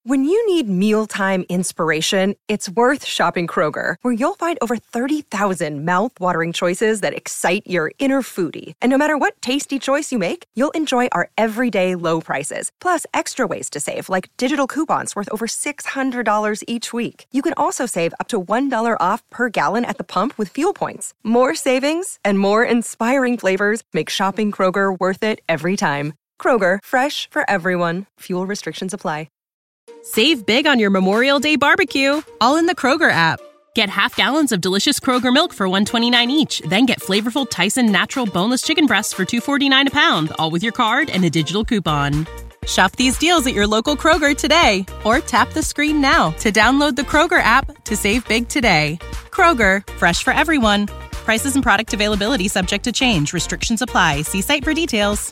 When you need mealtime inspiration, it's worth shopping Kroger, where you'll find over 30,000 mouth-watering choices that excite your inner foodie. And no matter what tasty choice you make, you'll enjoy our everyday low prices, plus extra ways to save, like digital coupons worth over $600 each week. You can also save up to $1 off per gallon at the pump with fuel points. More savings and more inspiring flavors make shopping Kroger worth it every time. Kroger, fresh for everyone. Fuel restrictions apply. Save big on your Memorial Day barbecue, all in the Kroger app. Get half gallons of delicious Kroger milk for $1.29 each. Then get flavorful Tyson natural boneless chicken breasts for $2.49 a pound, all with your card and a digital coupon. Shop these deals at your local Kroger today, or tap the screen now to download the Kroger app to save big today. Kroger, fresh for everyone. Prices and product availability subject to change. Restrictions apply. See site for details.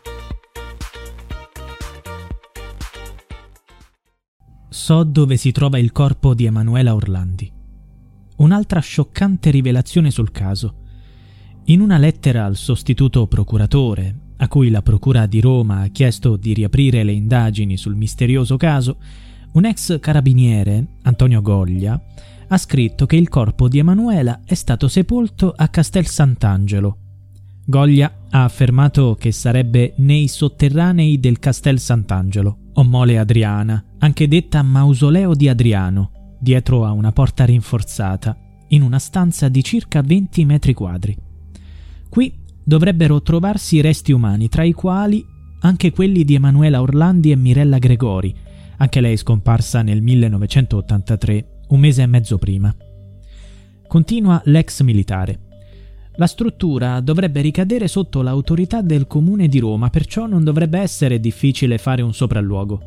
So dove si trova il corpo di Emanuela Orlandi. Un'altra scioccante rivelazione sul caso. In una lettera al sostituto procuratore, a cui la Procura di Roma ha chiesto di riaprire le indagini sul misterioso caso, un ex carabiniere, Antonio Goglia, ha scritto che il corpo di Emanuela è stato sepolto a Castel Sant'Angelo. Goglia ha affermato che sarebbe nei sotterranei del Castel Sant'Angelo, o Mole Adriana, anche detta Mausoleo di Adriano, dietro a una porta rinforzata, in una stanza di circa 20 metri quadri. Qui dovrebbero trovarsi resti umani, tra i quali anche quelli di Emanuela Orlandi e Mirella Gregori, anche lei scomparsa nel 1983, un mese e mezzo prima. Continua l'ex militare. La struttura dovrebbe ricadere sotto l'autorità del Comune di Roma, perciò non dovrebbe essere difficile fare un sopralluogo.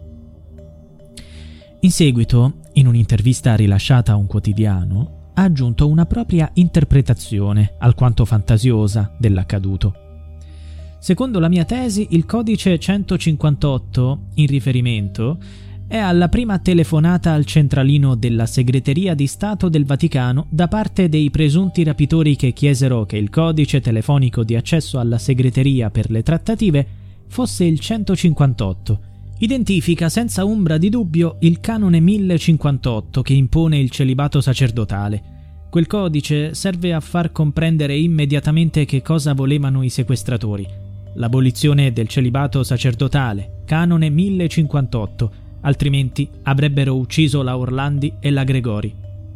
In seguito, in un'intervista rilasciata a un quotidiano, ha aggiunto una propria interpretazione, alquanto fantasiosa, dell'accaduto. Secondo la mia tesi, il codice 158, in riferimento, è alla prima telefonata al centralino della Segreteria di Stato del Vaticano da parte dei presunti rapitori che chiesero che il codice telefonico di accesso alla segreteria per le trattative fosse il 158. Identifica senza ombra di dubbio il canone 1058 che impone il celibato sacerdotale. Quel codice serve a far comprendere immediatamente che cosa volevano i sequestratori. L'abolizione del celibato sacerdotale, canone 1058, altrimenti avrebbero ucciso la Orlandi e la Gregori.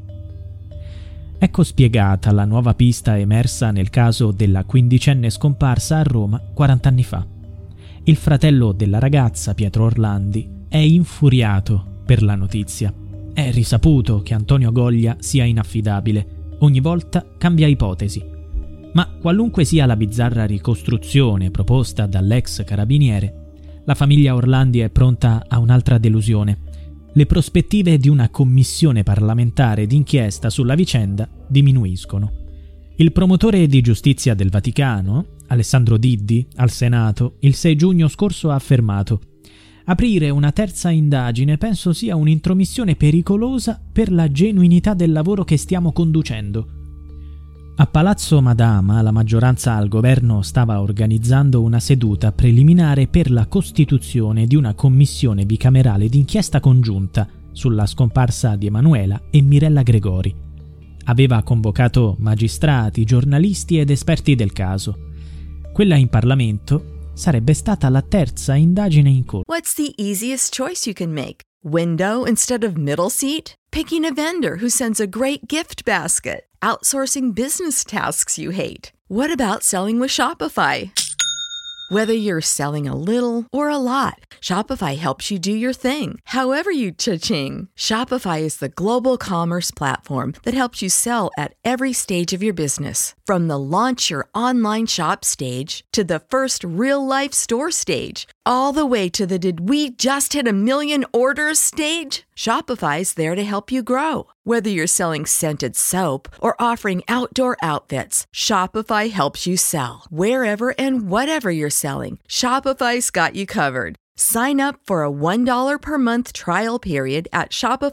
Ecco spiegata la nuova pista emersa nel caso della quindicenne scomparsa a Roma 40 anni fa. Il fratello della ragazza, Pietro Orlandi, è infuriato per la notizia. È risaputo che Antonio Goglia sia inaffidabile. Ogni volta cambia ipotesi. Ma qualunque sia la bizzarra ricostruzione proposta dall'ex carabiniere, la famiglia Orlandi è pronta a un'altra delusione. Le prospettive di una commissione parlamentare d'inchiesta sulla vicenda diminuiscono. Il promotore di giustizia del Vaticano, Alessandro Diddi, al Senato, il 6 giugno scorso ha affermato: «Aprire una terza indagine penso sia un'intromissione pericolosa per la genuinità del lavoro che stiamo conducendo». A Palazzo Madama la maggioranza al governo stava organizzando una seduta preliminare per la costituzione di una commissione bicamerale d'inchiesta congiunta sulla scomparsa di Emanuela e Mirella Gregori. Aveva convocato magistrati, giornalisti ed esperti del caso. Quella in Parlamento sarebbe stata la terza indagine in corso. What's the easiest choice you can make? Window instead of middle seat? Picking a vendor who sends a great gift basket? Outsourcing business tasks you hate? What about selling with Shopify? Whether you're selling a little or a lot, Shopify helps you do your thing, however you cha-ching. Shopify is the global commerce platform that helps you sell at every stage of your business. From the launch your online shop stage to the first real-life store stage, all the way to the did we just hit a million orders stage? Shopify's there to help you grow. Whether you're selling scented soap or offering outdoor outfits, Shopify helps you sell. Wherever and whatever you're selling, Shopify's got you covered. Sign up for a $1 per month trial period at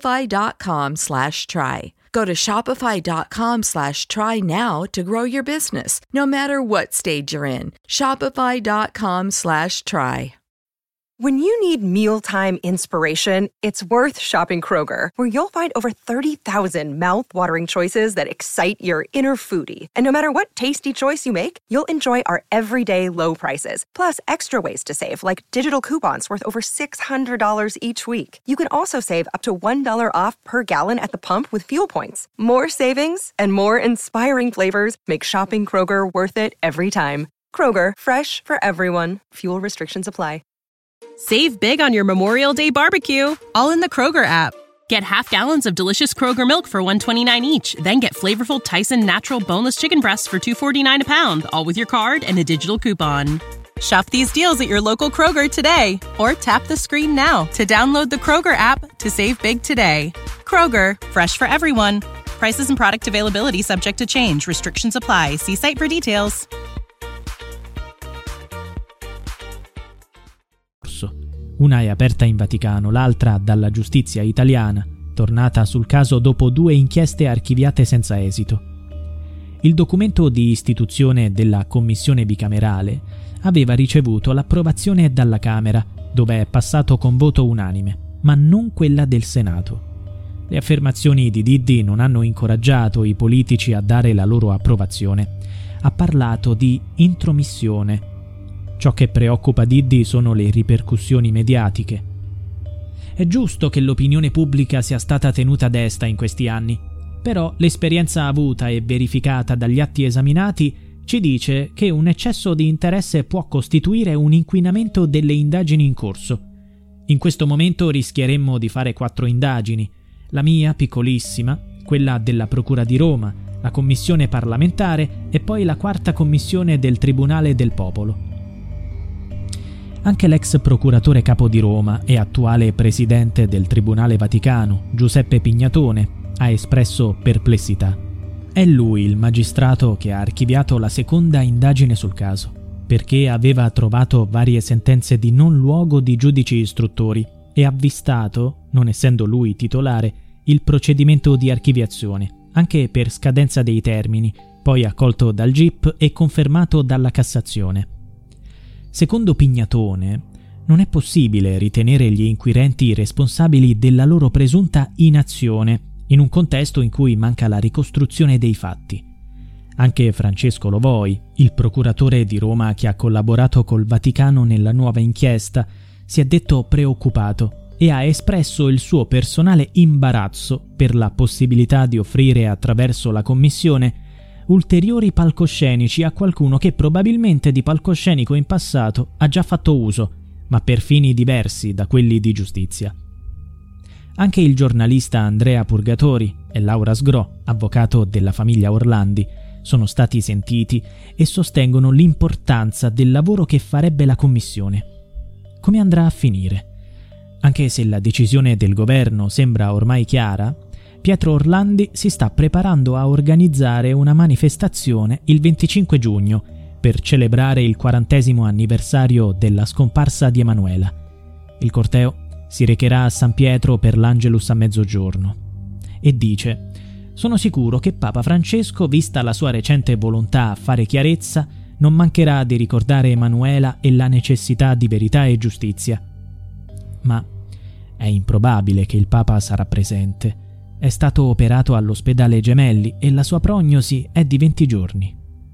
shopify.com/try. Go to shopify.com/try now to grow your business, no matter what stage you're in. Shopify.com/try. When you need mealtime inspiration, it's worth shopping Kroger, where you'll find over 30,000 mouth-watering choices that excite your inner foodie. And no matter what tasty choice you make, you'll enjoy our everyday low prices, plus extra ways to save, like digital coupons worth over $600 each week. You can also save up to $1 off per gallon at the pump with fuel points. More savings and more inspiring flavors make shopping Kroger worth it every time. Kroger, fresh for everyone. Fuel restrictions apply. Save big on your Memorial Day barbecue, all in the Kroger app. Get half gallons of delicious Kroger milk for $1.29 each. Then get flavorful Tyson natural boneless chicken breasts for $2.49 a pound, all with your card and a digital coupon. Shop these deals at your local Kroger today, or tap the screen now to download the Kroger app to save big today. Kroger, fresh for everyone. Prices and product availability subject to change. Restrictions apply. See site for details. Una è aperta in Vaticano, l'altra dalla giustizia italiana, tornata sul caso dopo 2 inchieste archiviate senza esito. Il documento di istituzione della commissione bicamerale aveva ricevuto l'approvazione dalla Camera, dove è passato con voto unanime, ma non quella del Senato. Le affermazioni di Diddi non hanno incoraggiato i politici a dare la loro approvazione. Ha parlato di intromissione. Ciò che preoccupa Diddi sono le ripercussioni mediatiche. È giusto che l'opinione pubblica sia stata tenuta a desta in questi anni, però l'esperienza avuta e verificata dagli atti esaminati ci dice che un eccesso di interesse può costituire un inquinamento delle indagini in corso. In questo momento rischieremmo di fare 4 indagini, la mia piccolissima, quella della Procura di Roma, la commissione parlamentare e poi la 4ª commissione del Tribunale del Popolo. Anche l'ex procuratore capo di Roma e attuale presidente del Tribunale Vaticano, Giuseppe Pignatone, ha espresso perplessità. È lui il magistrato che ha archiviato la 2ª indagine sul caso, perché aveva trovato varie sentenze di non luogo di giudici istruttori e avvistato, non essendo lui titolare, il procedimento di archiviazione, anche per scadenza dei termini, poi accolto dal GIP e confermato dalla Cassazione. Secondo Pignatone, non è possibile ritenere gli inquirenti responsabili della loro presunta inazione in un contesto in cui manca la ricostruzione dei fatti. Anche Francesco Lovoi, il procuratore di Roma che ha collaborato col Vaticano nella nuova inchiesta, si è detto preoccupato e ha espresso il suo personale imbarazzo per la possibilità di offrire attraverso la commissione ulteriori palcoscenici a qualcuno che probabilmente di palcoscenico in passato ha già fatto uso, ma per fini diversi da quelli di giustizia. Anche il giornalista Andrea Purgatori e Laura Sgro, avvocato della famiglia Orlandi, sono stati sentiti e sostengono l'importanza del lavoro che farebbe la commissione. Come andrà a finire? Anche se la decisione del governo sembra ormai chiara, Pietro Orlandi si sta preparando a organizzare una manifestazione il 25 giugno per celebrare il 40° anniversario della scomparsa di Emanuela. Il corteo si recherà a San Pietro per l'Angelus a mezzogiorno e dice: «Sono sicuro che Papa Francesco, vista la sua recente volontà a fare chiarezza, non mancherà di ricordare Emanuela e la necessità di verità e giustizia». Ma è improbabile che il Papa sarà presente. È stato operato all'ospedale Gemelli e la sua prognosi è di 20 giorni.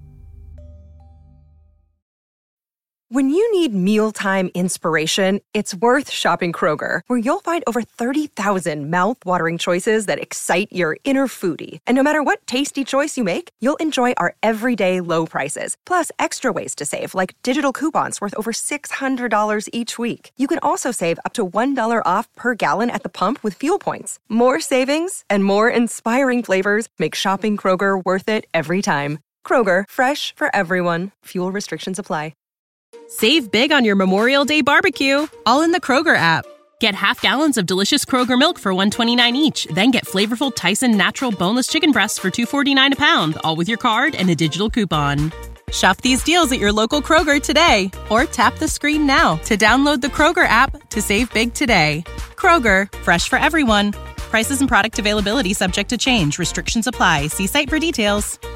When you need mealtime inspiration, it's worth shopping Kroger, where you'll find over 30,000 mouth-watering choices that excite your inner foodie. And no matter what tasty choice you make, you'll enjoy our everyday low prices, plus extra ways to save, like digital coupons worth over $600 each week. You can also save up to $1 off per gallon at the pump with fuel points. More savings and more inspiring flavors make shopping Kroger worth it every time. Kroger, fresh for everyone. Fuel restrictions apply. Save big on your Memorial Day barbecue, all in the Kroger app. Get half gallons of delicious Kroger milk for $1.29 each. Then get flavorful Tyson natural boneless chicken breasts for $2.49 a pound, all with your card and a digital coupon. Shop these deals at your local Kroger today, or tap the screen now to download the Kroger app to save big today. Kroger, fresh for everyone. Prices and product availability subject to change. Restrictions apply. See site for details.